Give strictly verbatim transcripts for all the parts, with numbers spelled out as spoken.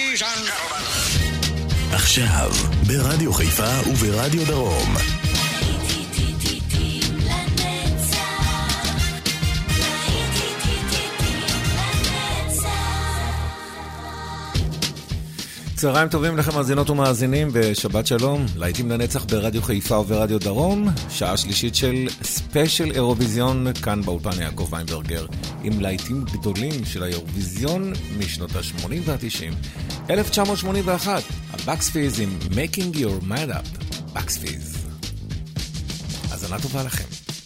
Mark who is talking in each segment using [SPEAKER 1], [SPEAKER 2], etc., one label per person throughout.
[SPEAKER 1] Ladies and gentlemen.
[SPEAKER 2] עכשיו, ברדיו חיפה וברדיו דרום.
[SPEAKER 3] צהריים טובים לכם מאזינות ומאזינים ושבת שלום, להיטים לנצח ברדיו חיפה וברדיו דרום, שעה שלישית של ספיישל אירוויזיון, כאן באולפן יעקב ויינברגר, עם להיטים גדולים של האירוויזיון משנות ה-שמונים וה-תשעים. אלף תשע מאות שמונים ואחת, הבקס פיז עם Making Your Mind Up, בקס פיז. האזנה טובה לכם.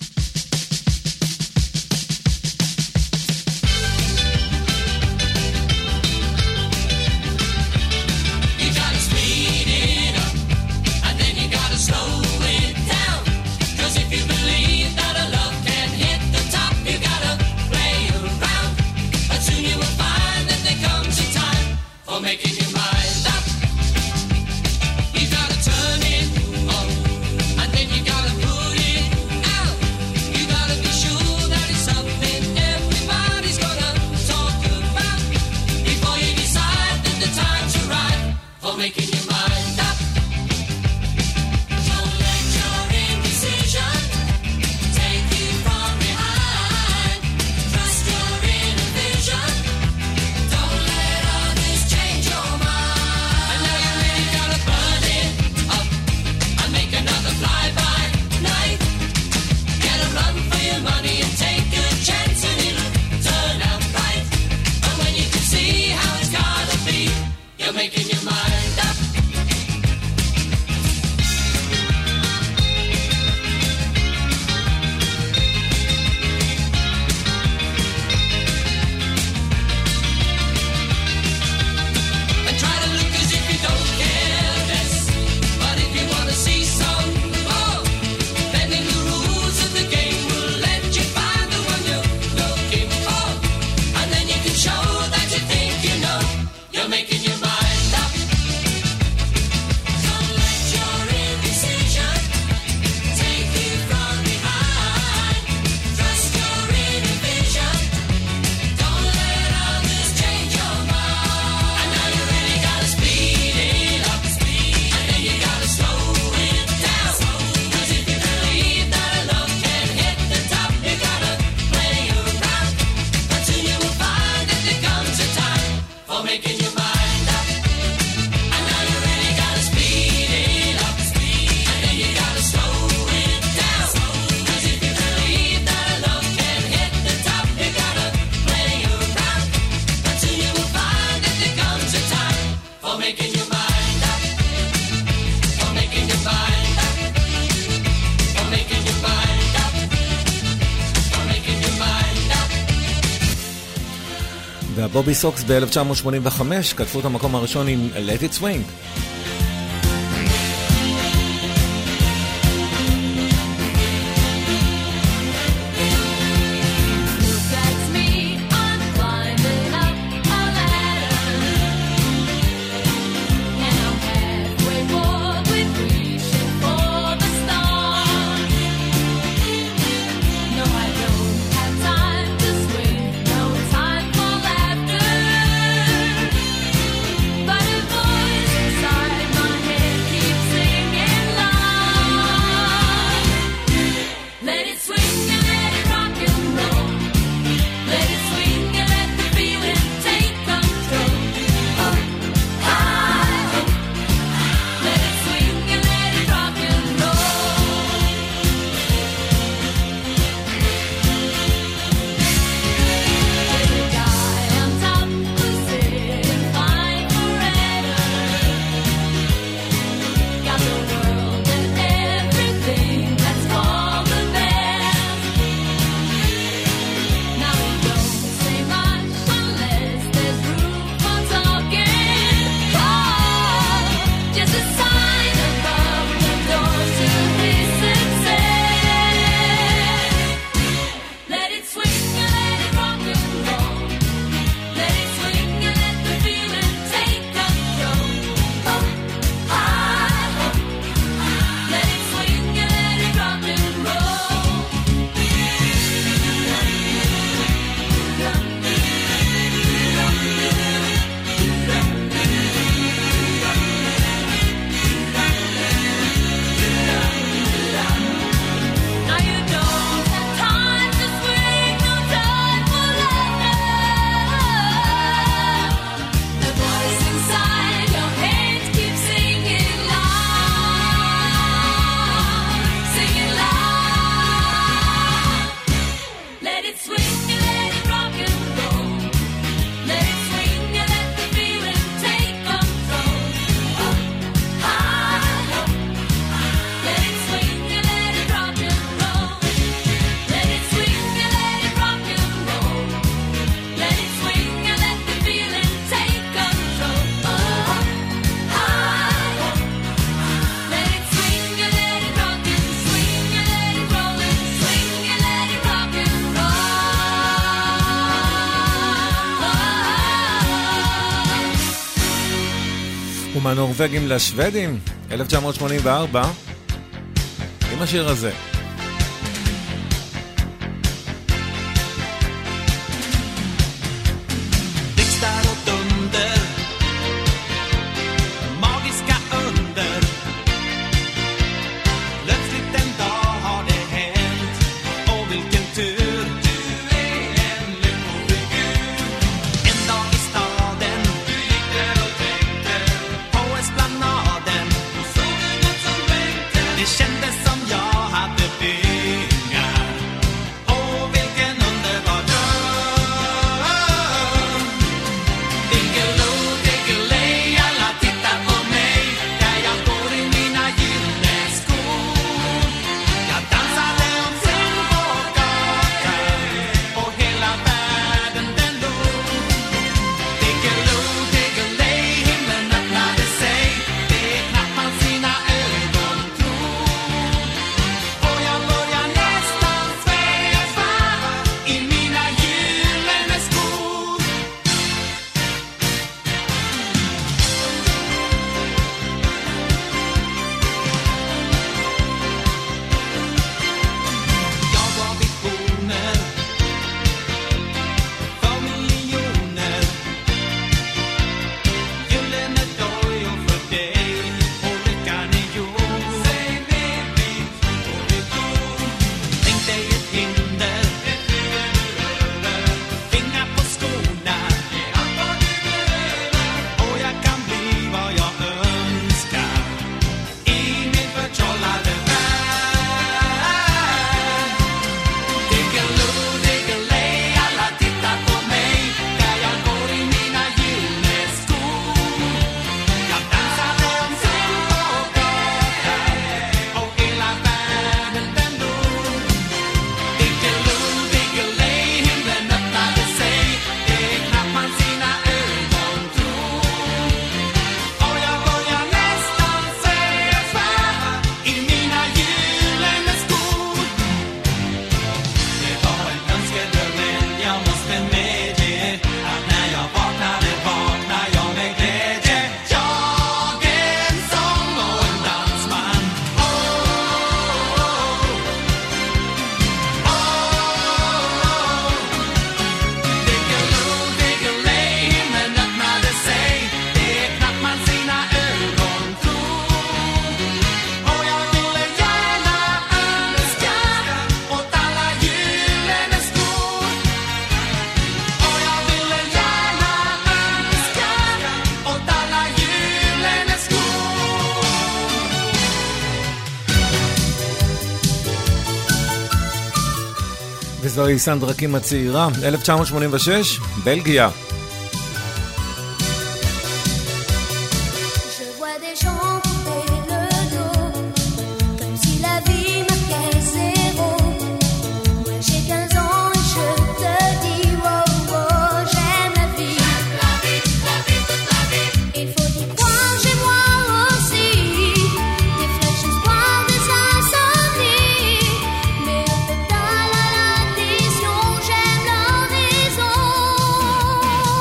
[SPEAKER 3] בובי סוקס ב-אלף תשע מאות שמונים וחמש כתבו את המקום הראשון עם Let It Swing.
[SPEAKER 4] Sorry.
[SPEAKER 3] ומהנורווגים לשוודים, אלף תשע מאות שמונים וארבע, עם השיר הזה. וזוהי סנדרה קים הצעירה, אלף תשע מאות שמונים ושש, בלגיה.
[SPEAKER 4] Oh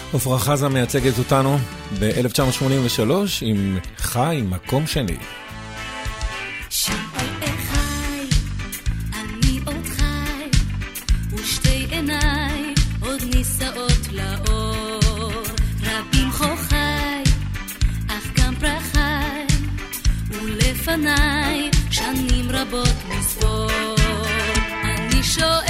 [SPEAKER 3] עפרה חזה מייצגת אותנו ב-אלף תשע מאות שמונים ושלוש עם חי מקום שני.
[SPEAKER 4] אני עוד חי ושתי עיניי עוד נישאות לאור, רבים חוכי אך גם פרחי ולפניי שנים רבות מספור. אני שואל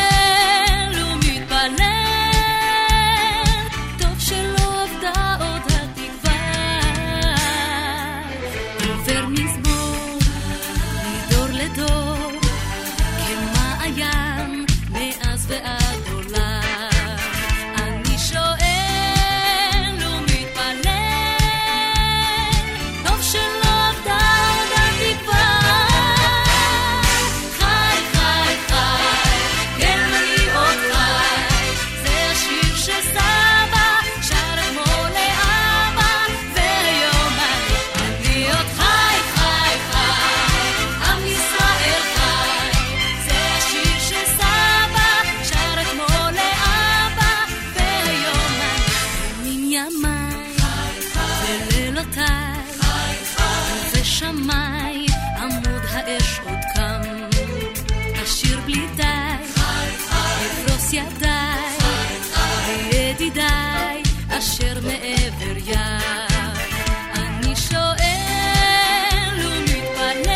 [SPEAKER 4] אשר מעבר ים. אני שואל ומתפלל,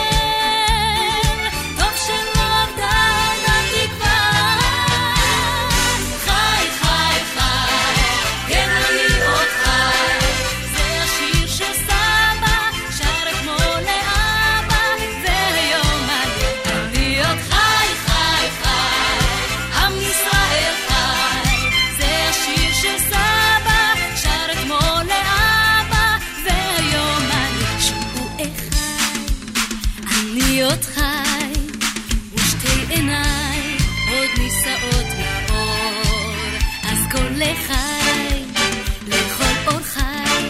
[SPEAKER 4] טוב שלא עבדה התקווה. חי חי חי, כן אני עוד חי, זה השיר שסבא שר אתמול לאבא, והיום אני עוד חי חי חי, עם ישראל חי, זה השיר שסבא עוד חי ושתי עיניי עוד נישאות לאור, אז כל לחי לכל אור חי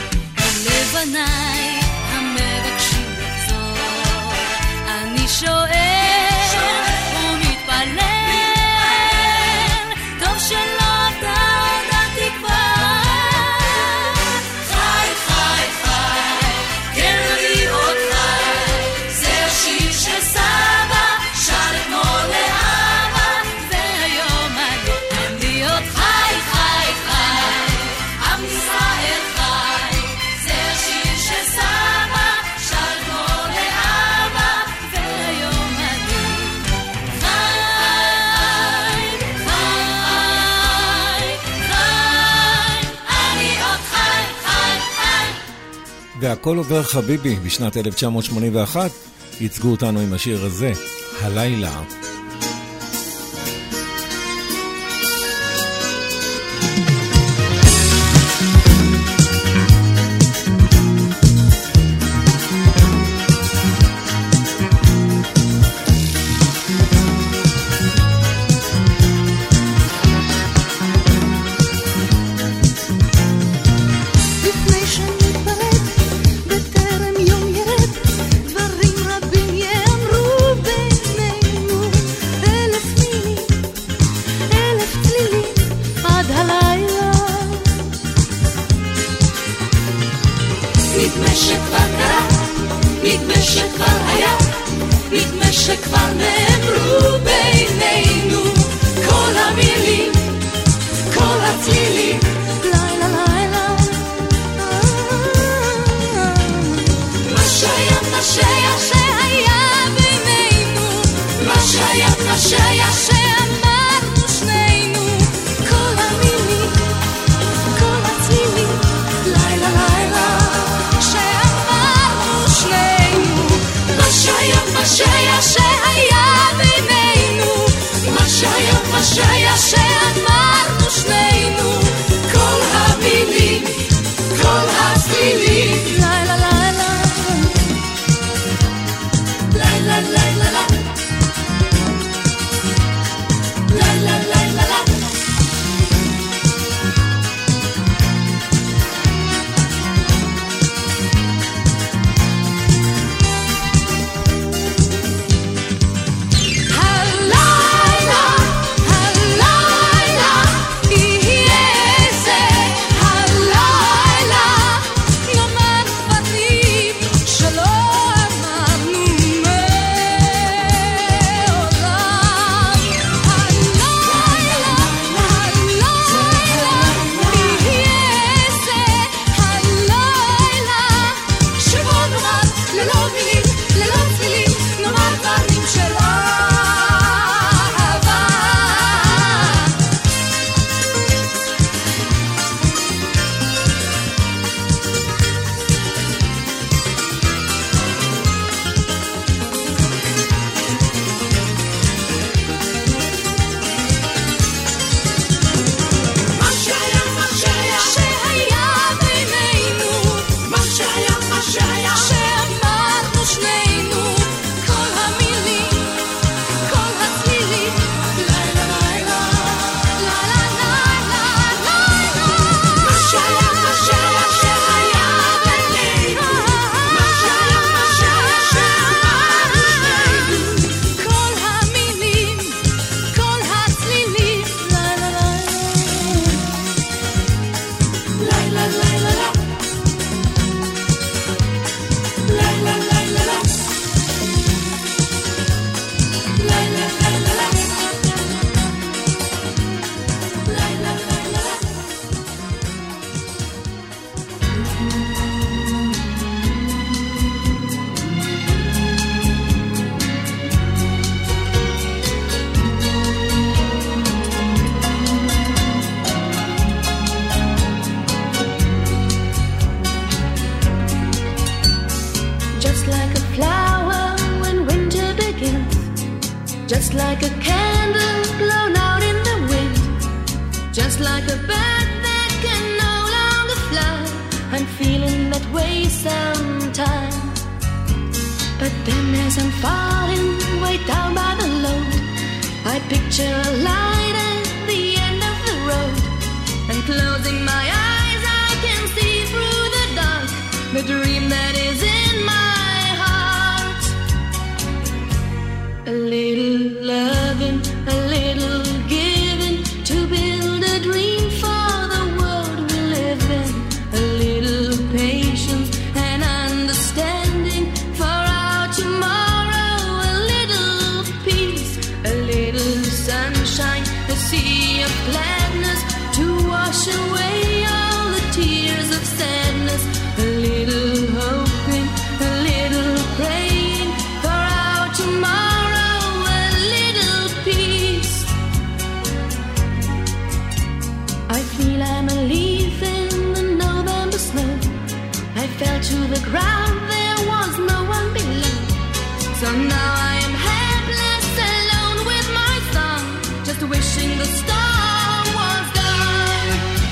[SPEAKER 4] ולבניי המבקשים לחזור. אני שואל ומתפלל, טוב שלא עבדה התקווה. חי חי חי, כן אני עוד חי, שיר שסבא שר אתמול לאבא, והיום אני עוד חי חי חי, עם ישראל חי, זה השיר שסבא שר אתמול לאבא, והיום אני חי חי חי, אני עוד חי חי חי.
[SPEAKER 3] והכל עובר חביבי בשנת אלף תשע מאות שמונים ואחת ייצגו אותנו עם השיר הזה, הלילה.
[SPEAKER 4] שהיה בינינו,
[SPEAKER 5] just like a candle blown out in the wind, just like a bird that can no longer fly. I'm feeling that way sometimes, but then as I'm falling way down by the load, I picture a light at the end of the road, and closing my eyes I can see through the dark the dream that is in my heart. A little loving, a little giving, to build a dream for the world we live in. A little patience and understanding for our tomorrow. A little peace, a little sunshine, a sea of gladness to wash away all the tears of sadness. A little hoping, a little praying for our tomorrow. A little peace. I feel I'm a leaf in the November snow. I fell to the ground, there was no one below. So now I am helpless, alone with my song, just wishing the storm was gone.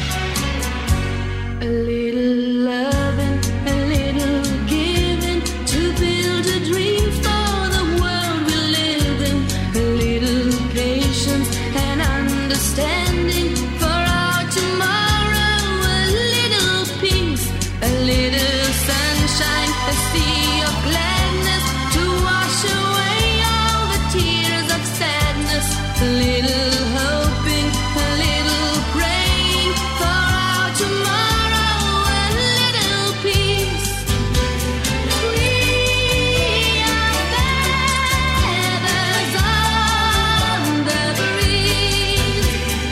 [SPEAKER 5] A little loving, a little giving, to build a dream for the world we live in. A little patience and understanding for our tomorrow. A little peace, a little sunshine, a sea of gladness to wash away all the tears of sadness. A little hoping, a little praying for our tomorrow. A little peace. We are feathers on the breeze.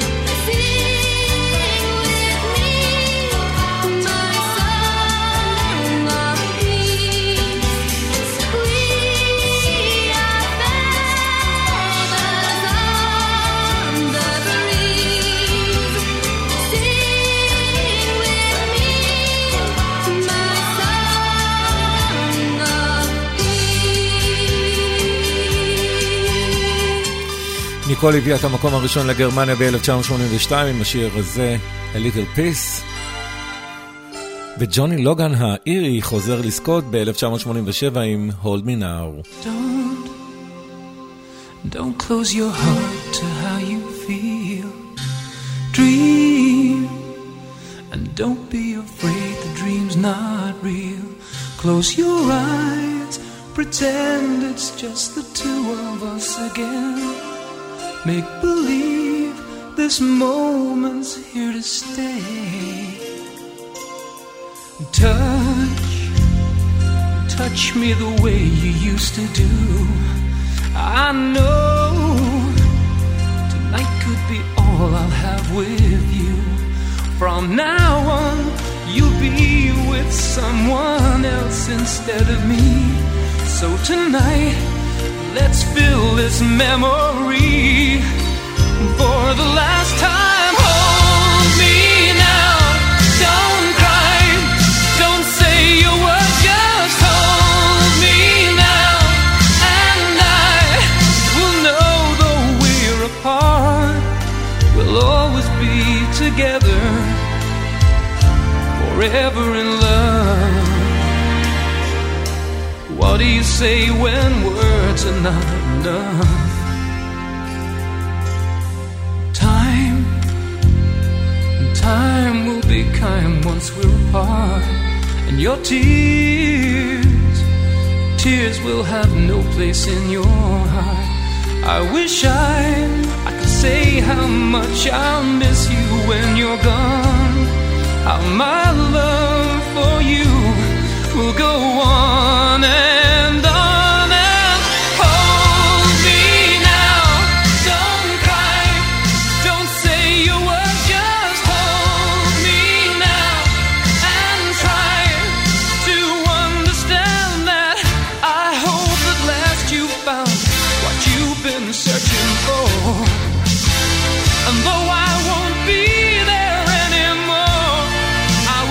[SPEAKER 5] Sing with me my song of peace. We are feathers on the breeze. Sing with me my song of peace.
[SPEAKER 3] ניקול הביאה את המקום הראשון לגרמניה ב-אלף תשע מאות שמונים ושתיים עם השיר הזה, A Little Peace. וג'וני לוגן האירי חוזר לזכות ב-אלף תשע מאות שמונים ושבע עם Hold Me Now.
[SPEAKER 6] Don't, don't close your heart to how you feel. Dream, and don't be afraid the dream's not real. Close your eyes, pretend it's just the two of us again. Make believe this moment's here to stay. Touch, touch me the way you used to do. I know tonight could be all I'll have with you. From now on, you'll be with someone else instead of me. So tonight, let's fill this memory for the last time. Hold me now, don't cry, don't say a word, just hold me now. And I will know though we're apart, we'll always be together, forever in love. What do you say when words are not enough? Time, time will be kind once we're apart. And your tears, tears will have no place in your heart. I wish I, I could say how much I'll miss you when you're gone. How my love for you will go on and on and hold me now. Don't cry, don't say a word, just hold me now and try to understand that I hope at last you found what you've been searching for. And though I won't be there anymore, I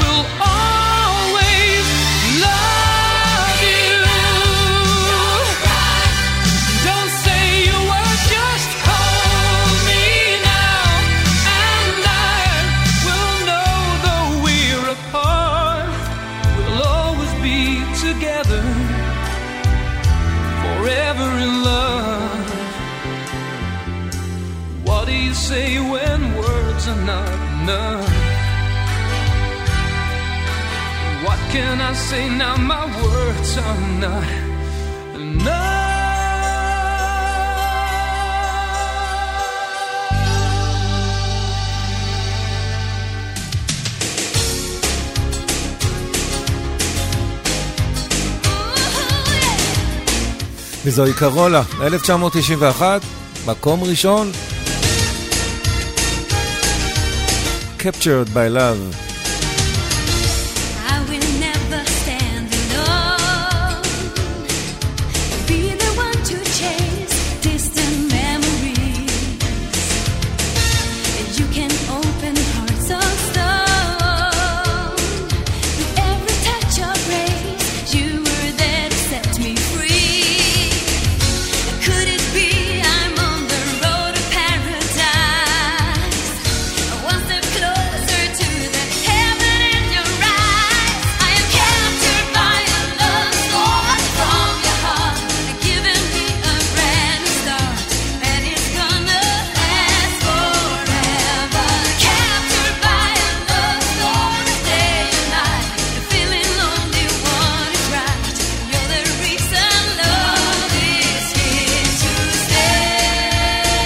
[SPEAKER 6] none. What can I say now? My words are not enough.
[SPEAKER 3] וזוהי קרולה, אלף תשע מאות תשעים ואחת, מקום ראשון. Captured by Love.
[SPEAKER 5] I will never stand alone. Be the one to chase distant memories. You can open hearts of stone. With every touch of grace, you were there to set me free. Could it be I'm on the road to paradise? One step closer to the heaven in your eyes. I am captured by a love story from your heart, giving me a brand new start, and it's gonna last forever. Captured by a love story, day and night, feeling only one is right. You're the reason love is here to stay.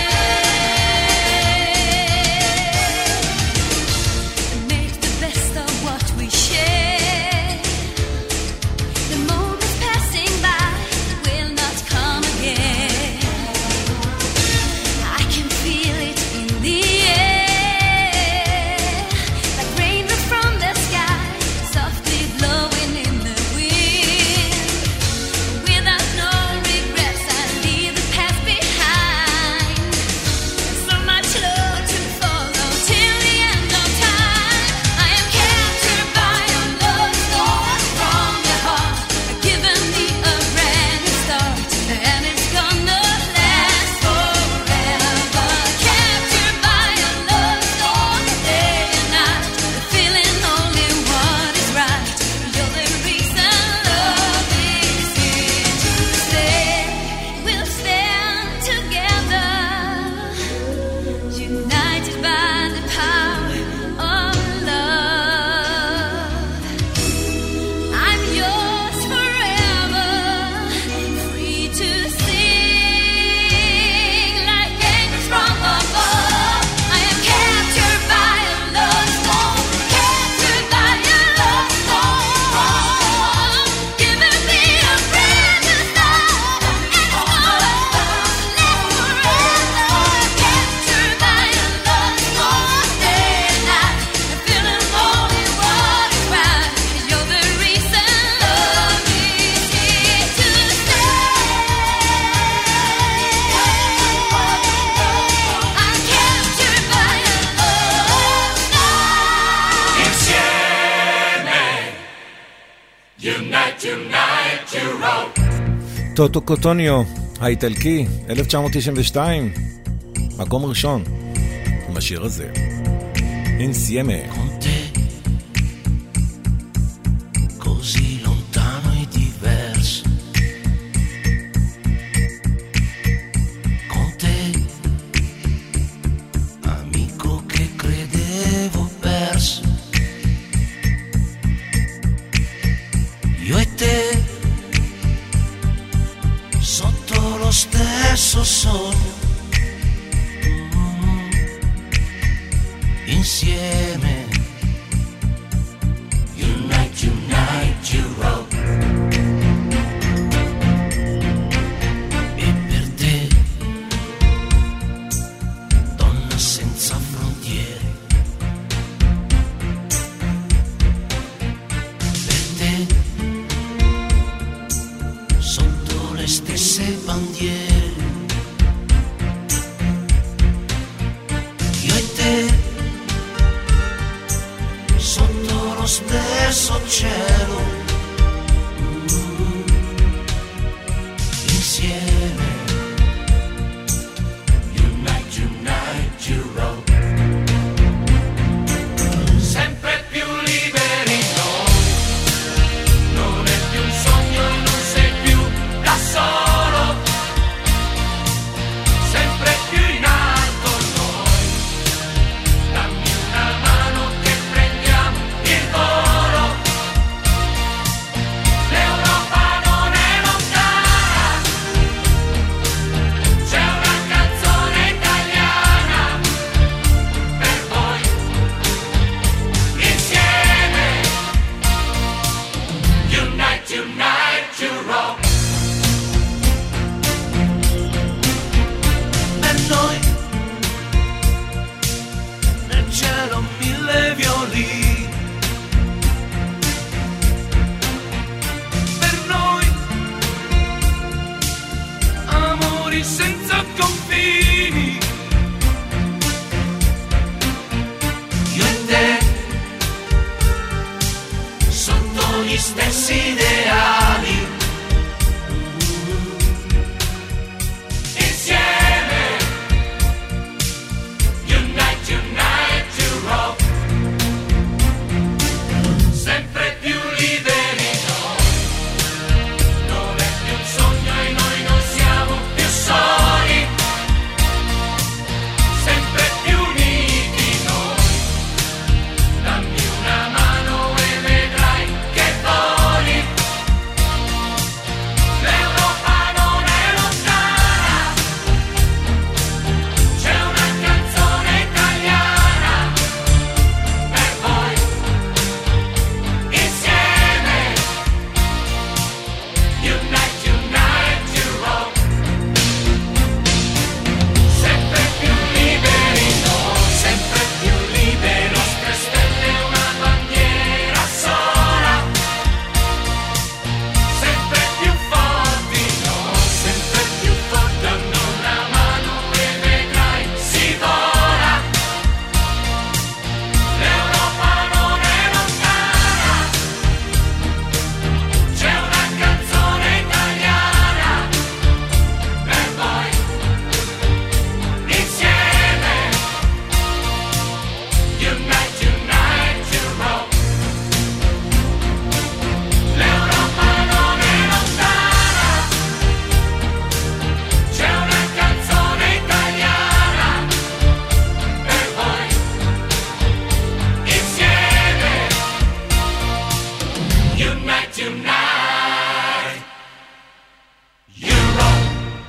[SPEAKER 5] Make the best of what we share. The moments passing by will not come again. I can feel it in the air, like raindrops from the sky, softly blowing in the wind. Without no regrets, I leave the past behind. So much love to follow till the end of time. I am captured by a love story from your heart, giving me a brand new start, and it's gonna last forever. Captured by a love story, day and night, feeling only what is right. You're the reason love is here to stay. We'll stand together, united by the power of love. I'm yours forever, free to sing like angels from above. I am captured by a love storm, captured by a love storm, giving me a brand new start, and it's gonna last forever. Captured by a love storm, day and night, feeling only what is right. You're the reason love is here to stay. I'm captured by a love storm.
[SPEAKER 1] Insieme, unite, unite, you roll.
[SPEAKER 3] טוטו קוטוניו, האיטלקי, אלף תשע מאות תשעים ושתיים, מקום ראשון, עם השיר הזה. אינסיימה.
[SPEAKER 7] Con te, così lontano e diverso. Con te, amico che credevo perso. Io e te, sotto lo stesso sogno. Mm, insieme. Unite, unite, you roll. E per te, donna senza frontiere. Per te, sotto le stesse bandiere. Io e te, sotto lo stesso cielo. Mm, insieme. Unite, unite, you roll.
[SPEAKER 1] Sempre più liberi noi, non è più un sogno, non sei più da solo, sempre più in alto noi, dammi una mano.
[SPEAKER 7] gli stessi ideali. Insieme, unite, unite to rock. Sempre più liberi noi, non è più un sogno e noi non siamo più soli. Sempre più uniti noi, dammi una mano e vedrai che voli. L'Europa non è lontana, c'è una canzone italiana per voi. Insieme, unite, unite to rock. Sempre più liberi noi, sempre più liberi, nostre stelle una bandiera sola. Sempre più forti noi, sempre più forti, danno una mano e vedrai si vola. L'Europa non è lontana, c'è una canzone italiana per voi. Insieme, unite, unite to rock. L'Europa non è lontana, c'è una canzone italiana per voi. Insieme, unite, unite, Europe.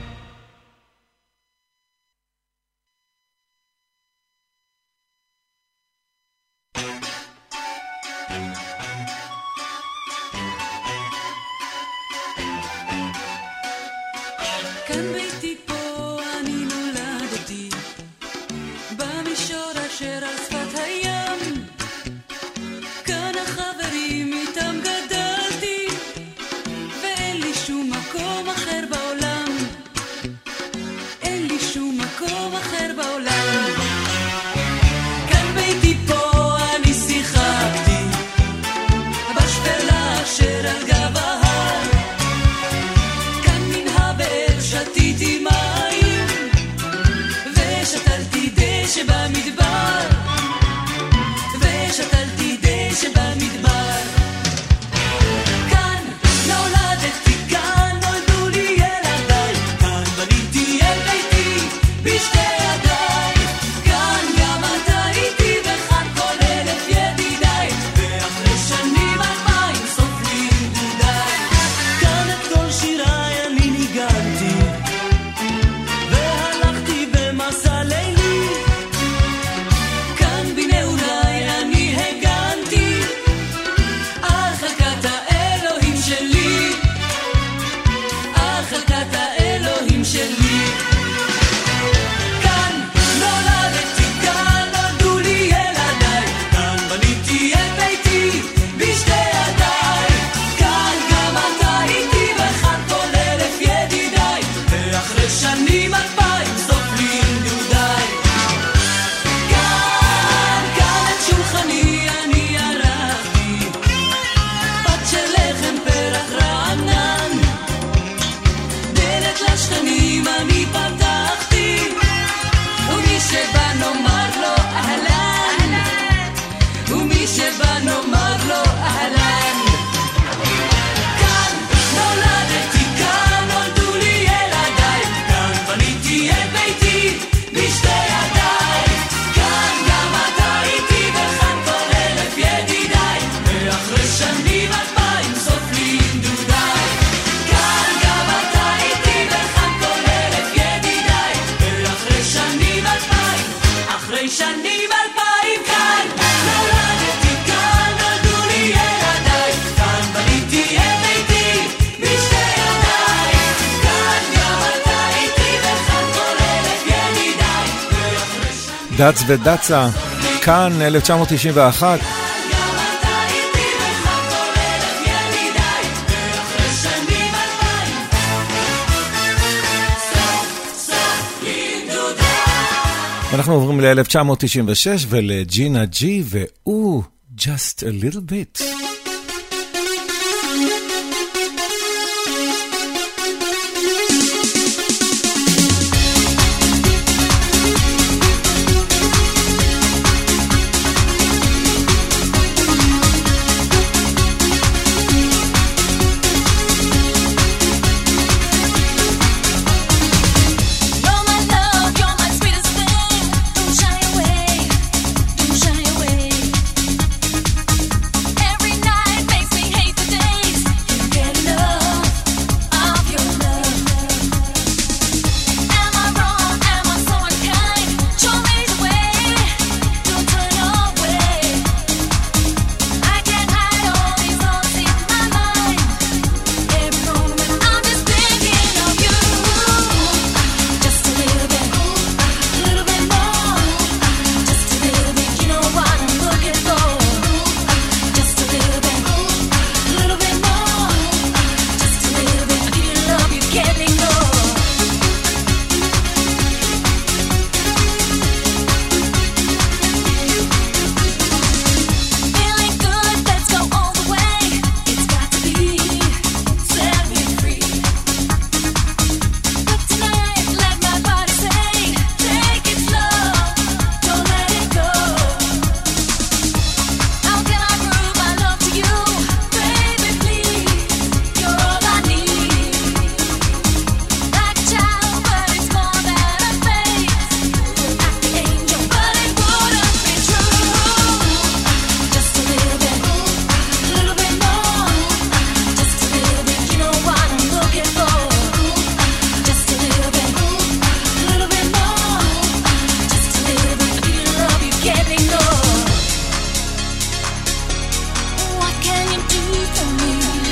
[SPEAKER 5] כאן ביתי פה אני נולדתי, במישור אשר על שפת הים, כאן החברים איתם גדלתי, ואין לי שום מקום אחר בעולם, אין לי שום מקום אחר בעולם. כאן ביתי פה אני שיחקתי, בשפלה אשר על גב ההר, כאן מן הבאר שתיתי מים, ושתלתי דשא במדבר, ושתלתי דשא במדבר. כאן נולדתי, כאן נולדו לי ילדיי, כאן בניתי את ביתי בשתי ידיי, כאן גם אתה איתי וכאן כל אלף ידידיי, ואחרי שנים אלפיים סופרים דודיי. כאן את כל שיריי אני ניגנתי, והלכתי במסע לילי, כאן בנעוריי אני הגנתי על חלקת האלוהים שלי, על חלקת האלוהים שלי. כאן נולדתי, כאן נולדו לי ילדיי, כאן בניתי את ביתי בשתי ידיי, כאן גם אתה איתי וכאן כל אלף ידידיי, ואחרי שנים אלפיים סופרים דודיי. כאן, כאן את שולחני אני ערכתי, פת של לחם פרח רענן, דלת לשכנים אני פתחתי, ומי שבא נאמר לו אהלן, ומי שבא נאמר לו אהלן. כאן נולדתי, כאן נולדו לי ילדיי, כאן בניתי את ביתי בשתי ידיי, כאן גם אתה איתי וכאן כל אלף ידידיי, ואחרי שנים אלפיים סופרים דודיי. כאן גם אתה איתי וכאן כל אלף ידידיי, ואחרי שנים אלפיים, אחרי שנים אלפיים. כאן נולדתי, כאן נולדו לי ילדיי, כאן בניתי את ביתי בשתי ידיי, כאן גם אתה איתי וכאן כל אלף ידידיי, ואחרי שנים
[SPEAKER 3] דץ ודצה, כאן אלף תשע מאות תשעים ואחת.
[SPEAKER 5] גם אתה איתי וכאן כל אלף ידידיי, ואחרי שנים אלפיים סוף סופרים דודיי.
[SPEAKER 3] אנחנו עוברים ל-אלף תשע מאות תשעים ושש ולג'ינה ג'י, והוא Just a little bit.
[SPEAKER 5] to me.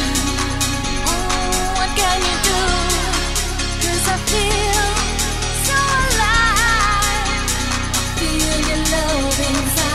[SPEAKER 5] Oh, what can you do? 'Cause I feel so alive. I feel your love inside.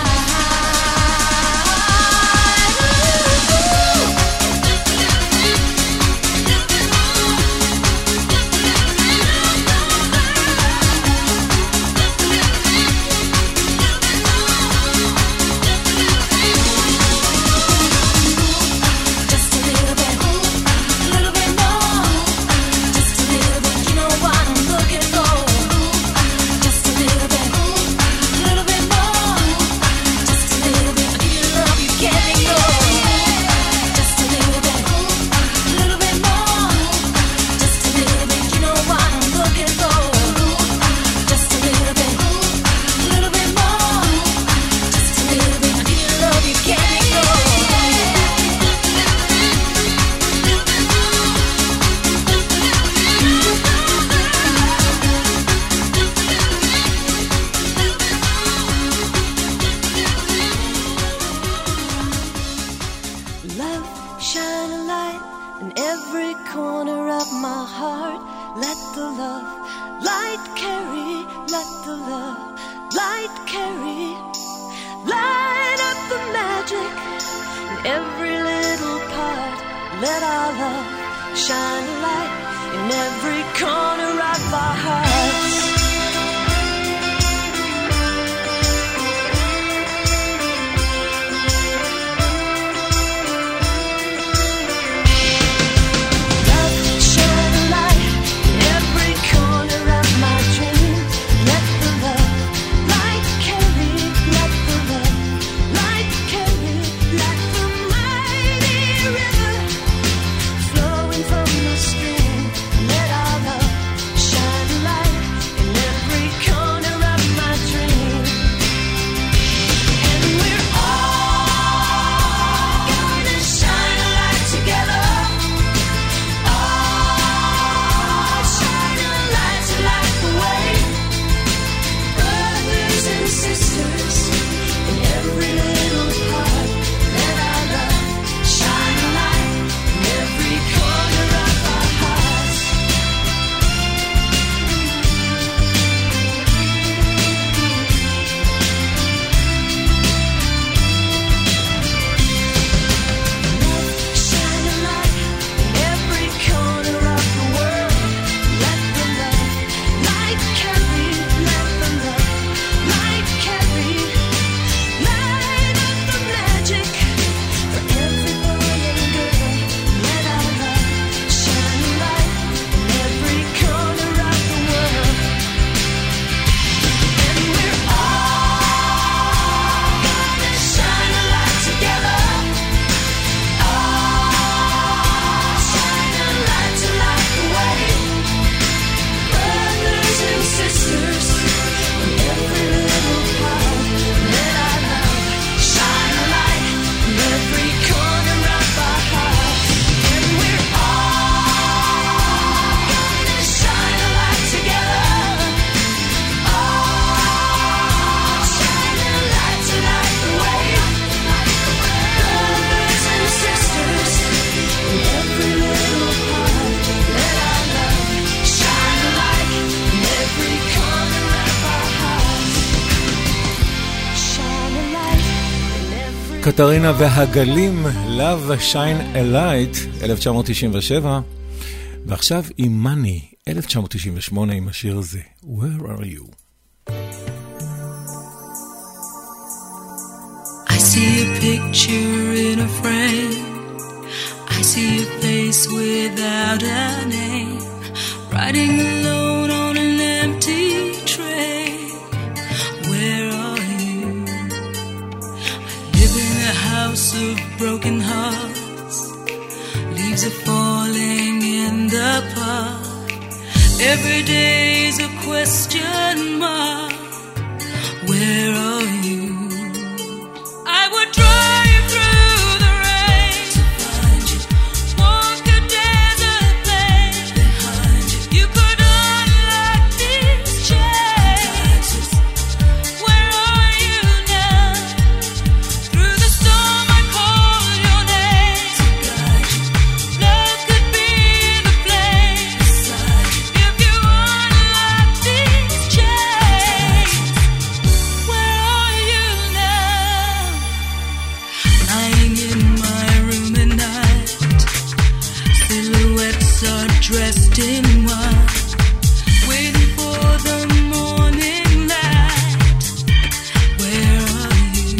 [SPEAKER 3] קטרינה והגלים, Love Shine a Light, אלף תשע מאות תשעים ושבע, ועכשיו עם Money, אלף תשע מאות תשעים ושמונה, עם השיר הזה, Where are you?
[SPEAKER 4] I see a picture in a frame, I see a face without a name, riding alone on an empty train. Where are you? I live in a house of broken hearts, leaves are falling in the park. Every day's a question mark. Where are you? I would drive through the rain to find you, walk a desert plain behind you. You could unlock these chains. Where are you now? Through the storm I call your name. dressed in white, waiting for the morning light. Where are you?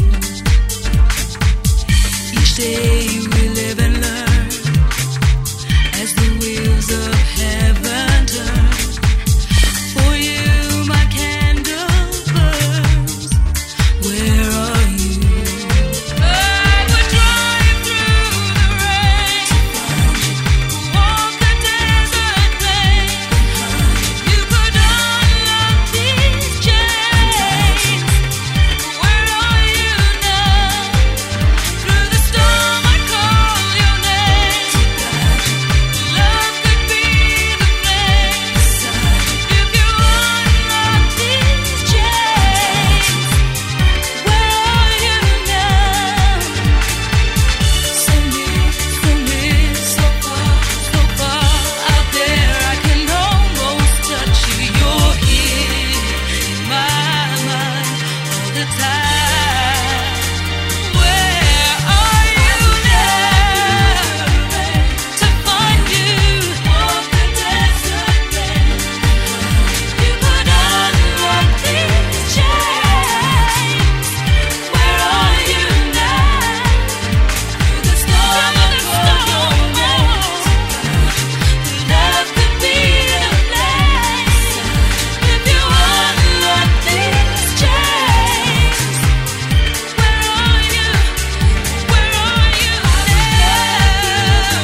[SPEAKER 4] Each day we live and learn as the wheels of heaven turn. For you my candle burns. Where are you? I would drive through the rain, walk the desert plain. You could unlock these chains. Where are you now? Through the storm I call your name. Love could be the flame. If you unlock these chains, where are you now? So near, so near, so far, so far out there, I can almost touch you. You're here in my mind all the time. Where are you now? To find you, walk the desert plain. You could unlock these chains. Where are you now? Through the storm I call your name. Love could be the place. If you unlock these chains, where are you? Where are you now?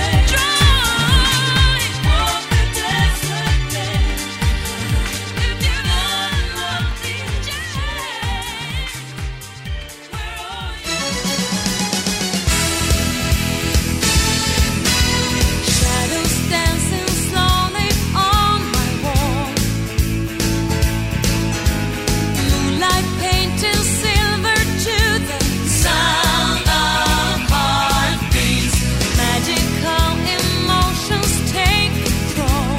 [SPEAKER 4] Drive, walk the desert plain. If you unlock these chains, where are you? Shadows dancing slowly on my wall. Moonlight painting silver to the sound of heartbeats. Magical emotions take control.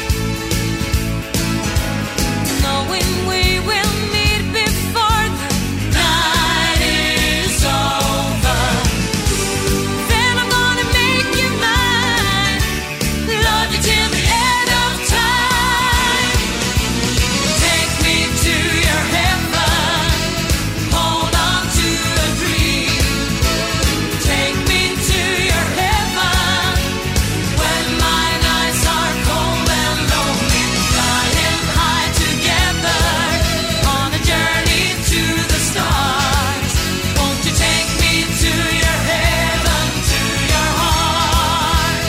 [SPEAKER 4] Knowing we will meet before the night is over. Then I'm gonna make you mine. Love you till the end of time. Take me to your heaven. Hold on to a dream. Take me to your heaven. When my nights are cold and lonely, flying high together on a journey to the stars. Won't you take me to your heaven, to your heart?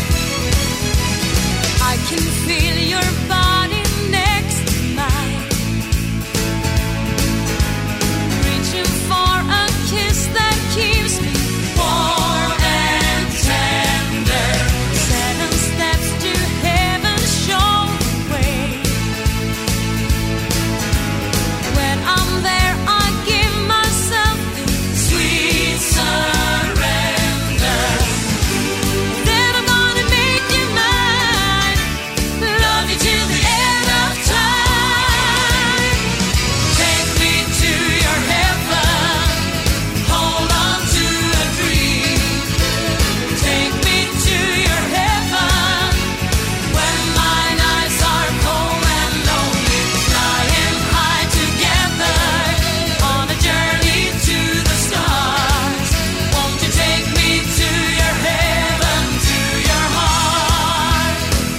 [SPEAKER 4] I can feel your body next to mine, reaching for a kiss that keeps me warm and tender. Seven steps to heaven show the way. When I'm there, I give myself in sweet surrender. Then I'm gonna make you mine. Love you till the end of time. Take me to your heaven. Hold on to a dream. Take me to your heaven. When my nights are cold and lonely, flying high together on a journey to the stars. Won't you take me to your heaven, to your heart?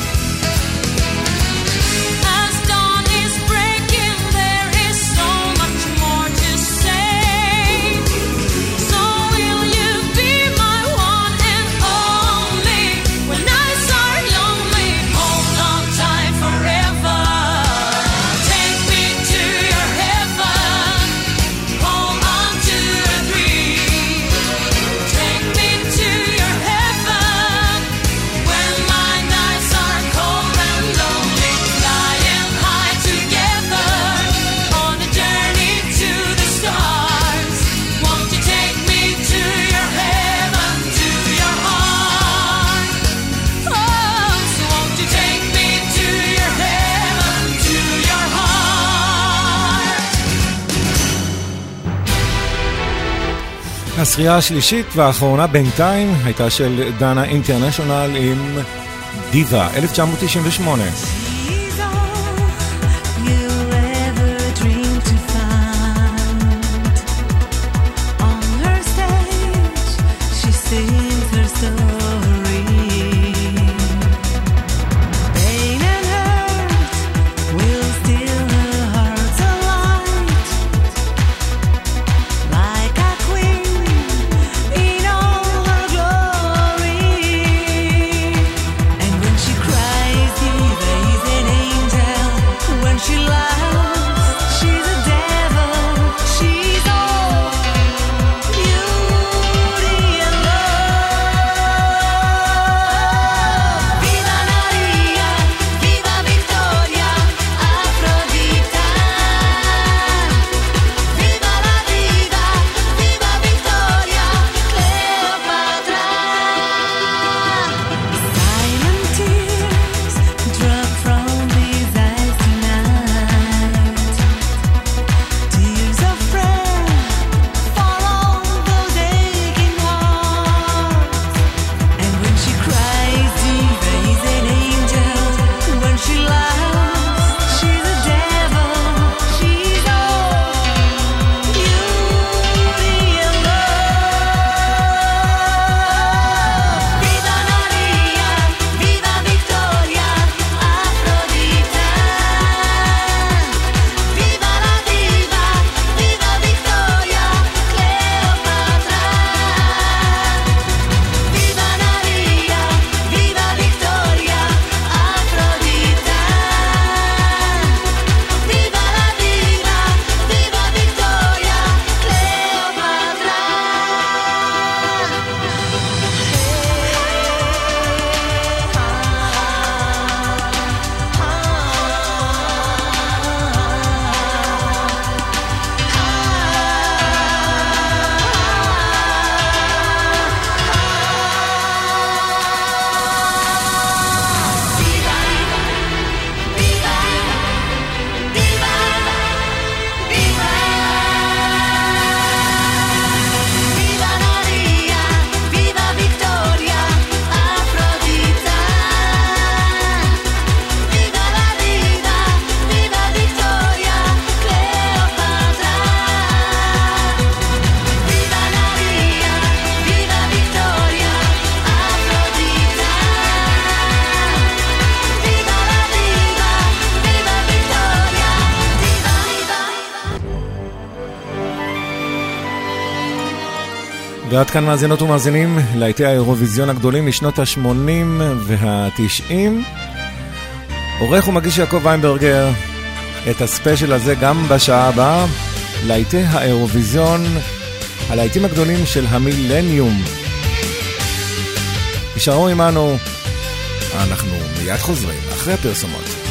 [SPEAKER 4] As dawn is breaking, there is so much more to say. So will you be my one and only? When nights are lonely, hold on tight forever. Take me to your heaven. Hold on to a dream. Take me to your heaven. When my nights are cold and lonely, flying high together on a journey to the stars. Won't you take me to your heaven, to your heart? Oh, so won't you take me to your heaven, to your heart?
[SPEAKER 3] הזכייה השלישית והאחרונה בינתיים הייתה של דנה אינטרנשיונל עם דיבה, אלף תשע מאות תשעים ושמונה. ועד כאן מאזינות ומאזינים להיטי האירוויזיון הגדולים משנות ה-שמונים וה-תשעים. עורך ומגיש יעקב ויינברגר, את הספיישל הזה גם בשעה הבאה, להיטי האירוויזיון, הלהיטים הגדולים של המילניום. נשארו עמנו, אנחנו מיד חוזרים אחרי הפרסומות.